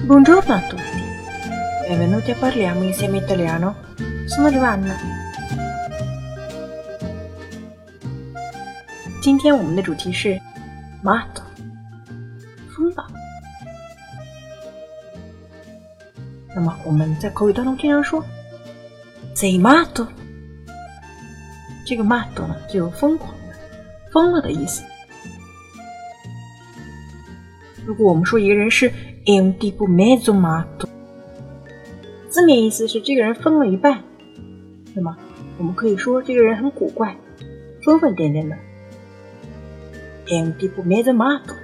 Buongiorno a tutti, benvenuti a Parliamo insieme italiano. Sono Giovanna. 今天我们的主题是 matto 疯了。那么我们在口语当中经常说 sei matto， 这个 matto 呢就有疯狂的、疯了的意思。如果我们说一个人是 è un tipo mezzo matto， 字面意思是这个人疯了一半，那么我们可以说这个人很古怪、疯疯癫癫的。è un tipo mezzo matto。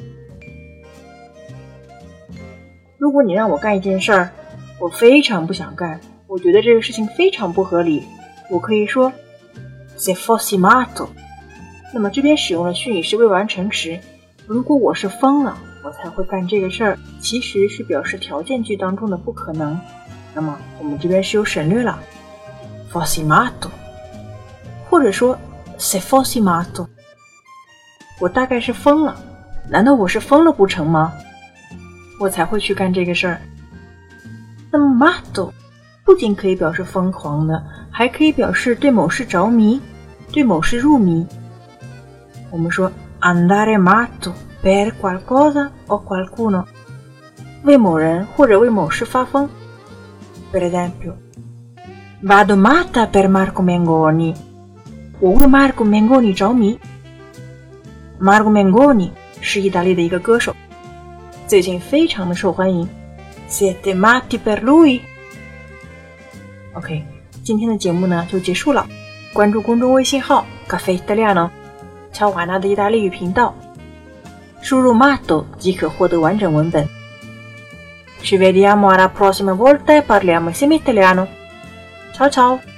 如果你让我干一件事儿，我非常不想干，我觉得这个事情非常不合理，我可以说 se fossi matto。 那么这边使用了虚拟式未完成时，如果我是疯了我才会干这个事儿，其实是表示条件句当中的不可能，那么我们这边是有省略了 fossi matto， 或者说 se fossi matto， 我大概是疯了，难道我是疯了不成吗？我才会去干这个事儿。那么 matto 不仅可以表示疯狂的，还可以表示对某事着迷，对某事入迷。我们说 andare matto per qualcosa o qualcuno， 为某人或者为某事发疯。 Per esempio vado matta per Marco Mengoni， 我为 Marco Mengoni 着迷。 Marco Mengoni 是意大利的一个歌手，最近非常的受欢迎。 Siete matti per lui。 OK， 今天的节目呢就结束了，关注公众微信号 Caffè Italiano 乔瓦纳的意大利语频道，输入 matto 即可获得完整文本。Ci vediamo alla prossima volta e parliamo insieme italiano. Ciao ciao!